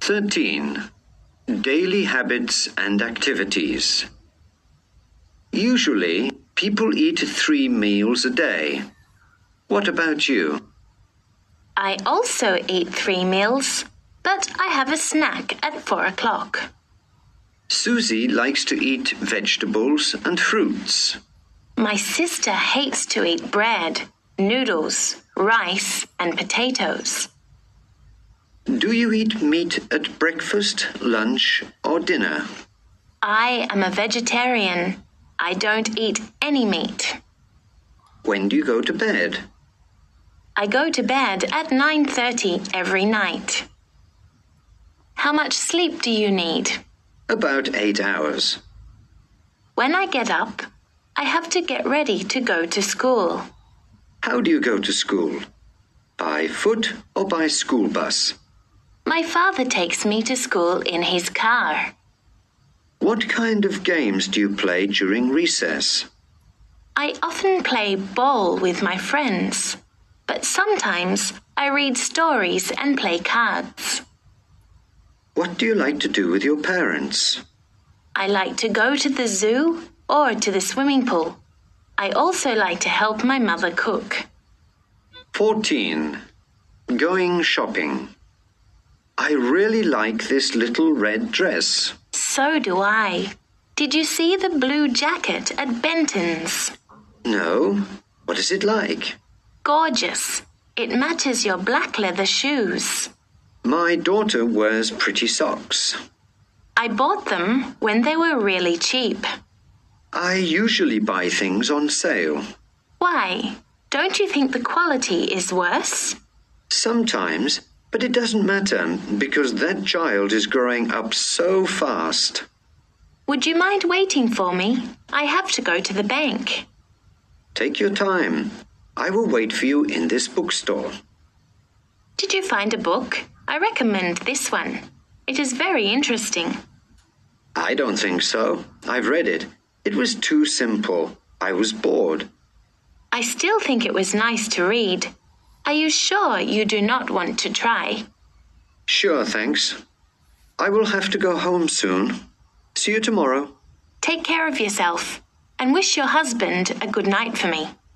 13. Daily habits and activities. Usually, people eat 3 meals a day. What about you? I also eat 3 meals, but I have a snack at 4 o'clock. Susie likes to eat vegetables and fruits. My sister hates to eat bread, noodles, rice, and potatoes. Do you eat meat at breakfast, lunch, or dinner? I am a vegetarian. I don't eat any meat. When do you go to bed? I go to bed at 9:30 every night. How much sleep do you need? About 8 hours. When I get up, I have to get ready to go to school. How do you go to school? By foot or by school bus? My father takes me to school in his car. What kind of games do you play during recess? I often play ball with my friends, but sometimes I read stories and play cards. What do you like to do with your parents? I like to go to the zoo or to the swimming pool. I also like to help my mother cook. 14. Going shopping. I really like this little red dress. So do I. Did you see the blue jacket at Benton's? No. What is it like? Gorgeous. It matches your black leather shoes. My daughter wears pretty socks. I bought them when they were really cheap. I usually buy things on sale. Why? Don't you think the quality is worse? Sometimes, but it doesn't matter because that child is growing up so fast. Would you mind waiting for me? I have to go to the bank. Take your time. I will wait for you in this bookstore. Did you find a book? I recommend this one. It is very interesting. I don't think so. I've read it. It was too simple. I was bored. I still think it was nice to read. Are you sure you do not want to try? Sure, thanks. I will have to go home soon. See you tomorrow. Take care of yourself and wish your husband a good night for me.